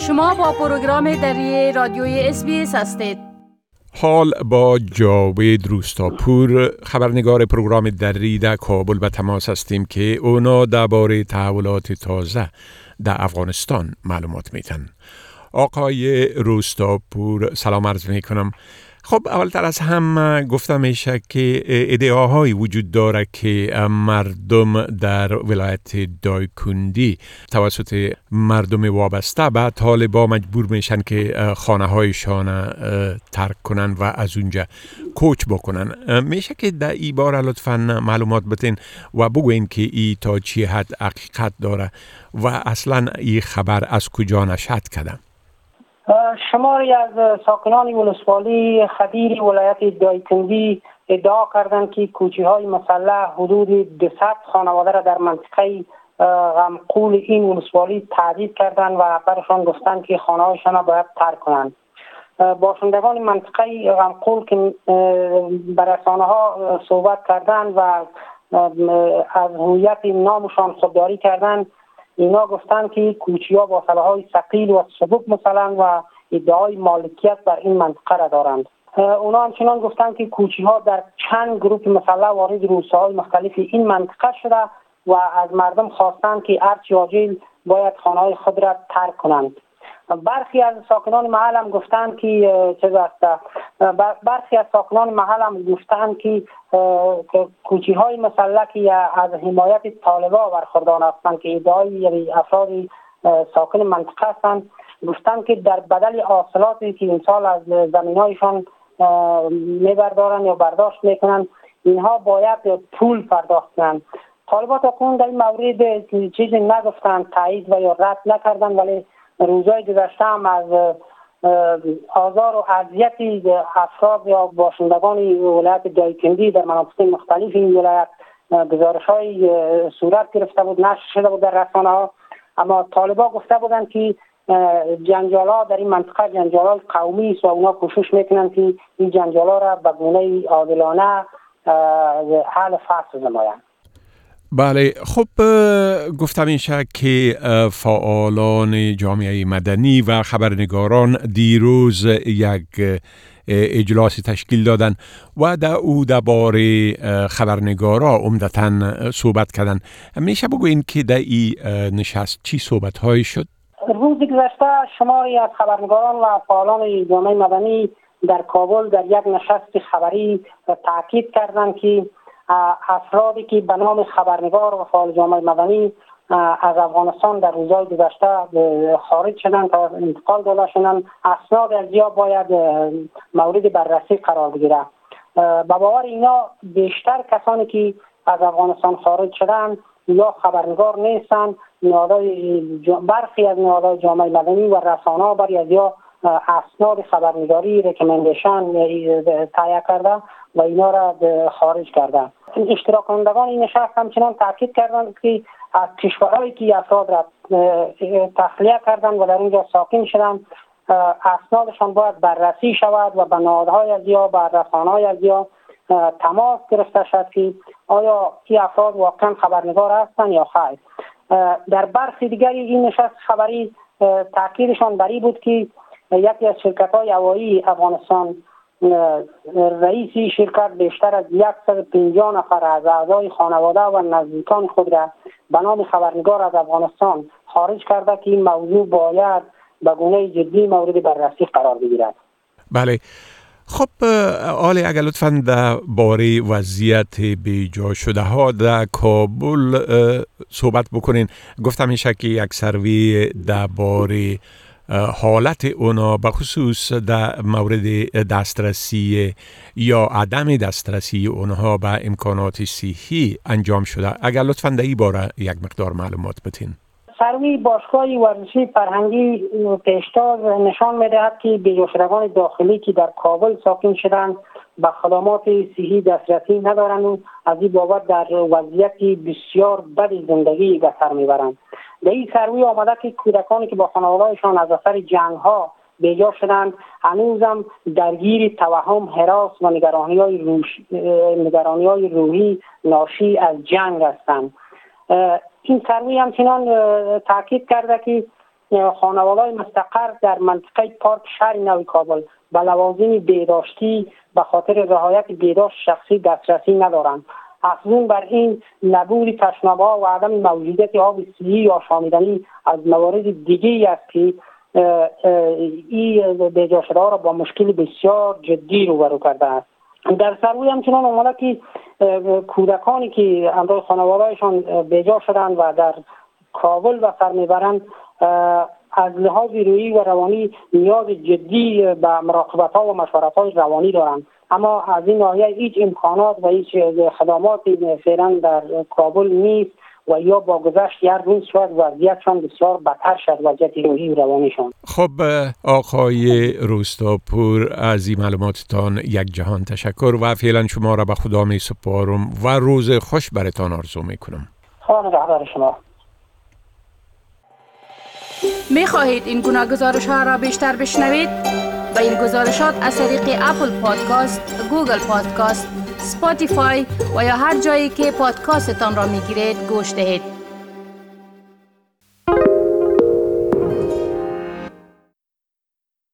شما با پروگرام دری رادیوی SBS هستید. حال با جاوید روستاپور خبرنگار پروگرام دری در کابل به تماس هستیم که اونا درباره تحولات تازه در افغانستان معلومات میتن. آقای روستاپور سلام عرض میکنم. خب اولتر از هم گفتم میشه که ادعاهایی وجود داره که مردم در ولایت دایکندی توسط مردم وابسته به طالبان مجبور میشن که خانه هایشان ترک کنن و از اونجا کوچ بکنن. میشه که در این باره لطفاً معلومات بتین و بگوین که این تا چی حد حقیقت داره و اصلا این خبر از کجا نشأت کرده؟ شماری از ساکنان ولسوالی خدیر ولایت دایکندی ادعا کردند که کوچه‌های مسلح حدود 200 خانواده را در منطقه غمقول این ولسوالی تهدید کردند و برشان گفتند که خانه‌هایشان را باید ترک کنند. باشندگان منطقه غمقول که به رسانه‌ها صحبت کردند و از هویت نامشان خودداری کردند، اینا گفتند که کوچه‌ها با سلاح‌های ثقیل و سبک مسلح‌اند و ادعای مالکیت بر این منطقه را دارند. اونا همچنان گفتند که کوچه‌ها در چند گروه مسلح وارد روستاهای مختلف این منطقه شده و از مردم خواستند که هرچه عاجل باید خانه‌های خود را ترک کنند. برخی از ساکنان محل هم گفتند که برخی از ساکنان محل هم گفتند که کوچه‌های مسلح که از حمایت طالبان برخوردار هستند که ادعای افراد ساکن منطقه هستند، گفتند که در بدل حاصلاتی که این سال از زمین‌هایشان میبردارن یا برداشت میکنن، اینها باید پول پرداخت کنند. طالبان تا کنون در این مورد چیزی نگفتند، تایید و یا رد نکردند، ولی روزهای گذشته هم از آزار و اذیتی افراد یا باشندگان ولایت دایکندی در مناطق مختلف این ولایت گزارش‌های صورت گرفته بود، نشر شده بود در رسانه‌ها. اما طالبان گفته بودند که جنجال‌ها در این منطقه جنجال‌های قومی است و اونا کوشش میکنند که این جنجال‌ها را به گونه عادلانه حل فصل نمایند. بله، خب گفتم میشه که فعالان جامعه مدنی و خبرنگاران دیروز یک اجلاسی تشکیل دادن و در او درباره خبرنگارا عمدتاً صحبت کردن. میشه بگوین که در این نشست چی صحبت های شد؟ روز گذشته شماری از خبرنگاران و فعالان جامعه مدنی در کابل در یک نشست خبری تاکید کردند که افرادی که به نام خبرنگار و فعال جامعه مدنی از افغانستان در روزهای گذشته خارج شدند تا انتقال داده شدند، اسناد از یا باید مورد بررسی قرار بگیره. به باور اینا بیشتر کسانی که از افغانستان خارج شدند یا خبرنگار نیستند، برخی از نهادهای جامعه مدنی و رسانه‌ها برای از یا اسناد خبرنگاری ریکامندیشن تهیه کرده و اینا را خارج کرده. اشتراک کنندگان این نشست همچنان تاکید کردند که از کشورهایی که افراد را تخلیه کردند و در اونجا ساکن شدند اسنادشان باید بررسی شود و به نهادهای از یا به رسانه‌های از یا تماس گرفته شد که آیا این افراد واقعا خبرنگار هستند یا خیر. در برخی دیگری این نشست خبری تاکیدشان بر این بود که یکی از شرکت‌های هوایی افغانستان رئیسی شرکت بیشتر از 150 نفر از اعضای خانواده و نزدیکان خود را به نام خبرنگار از افغانستان خارج کرده که این موضوع باید به گونه جدی مورد بررسی قرار بگیرد. بله، خب آلی اگر لطفاً در باره وضعیت بیجا شده ها در کابل صحبت بکنین. گفتم میشه که یک سروی در باره حالت اونا به خصوص در مورد دسترسی یا عدم دسترسی اونها به امکانات صحی انجام شده. اگر لطفاً در این باره یک مقدار معلومات بتین. سروی باشگاه ورزشی فرهنگی پیشتاز نشان می‌دهد که بیجا شدگان داخلی که در کابل ساکن شدند به خدمات صحی دسترسی ندارند و از این بابت در وضعیتی بسیار بد زندگی به سر میبرند. در این سروی آمده که کودکانی که با خانواده‌شان از اثر جنگ‌ها بیجا شدند هنوزم درگیر توهم، هراس و نگرانی‌های روحی ناشی از جنگ هستند. این سروی همچنان تاکید کرده که خانواده‌های مستقر در منطقه پارک شهر نو کابل به لوازم بهداشتی به خاطر رعایت بهداشت شخصی دسترسی ندارند. افزون بر این نبود تشناب‌ها و عدم موجودیت آب صحی یا شامیدنی از موارد دیگری است که این بیجا شده‌ها را با مشکل بسیار جدی روبرو کرده است. در سروی همچنان آمده که کودکانی که همراه خانواده‌هایشان بیجا شدند و در کابل به سر میبرند از لحاظ روحی و روانی نیاز جدی به مراقبت‌ها و مشورت‌های روانی دارند، اما از این ناحیه هیچ امکانات و هیچ خدماتی فعلا در کابل نیست و یا با گذشت یک روز شد وضعیتشان بسیار بدتر شد، وضعیت روحی و روانیشان. خب آقای روستاپور، از این معلوماتتان یک جهان تشکر و فعلا شما را به خدا می سپارم و روز خوش برتان آرزو می کنم. خدا نگهدار شما. می خواهید این گناه گزارش ها را بیشتر بشنوید؟ با این گزارشات از طریق اپل پادکاست، گوگل پادکاست، سپاتیفای و یا هر جایی که پادکاستتان را می گیرید گوش دهید.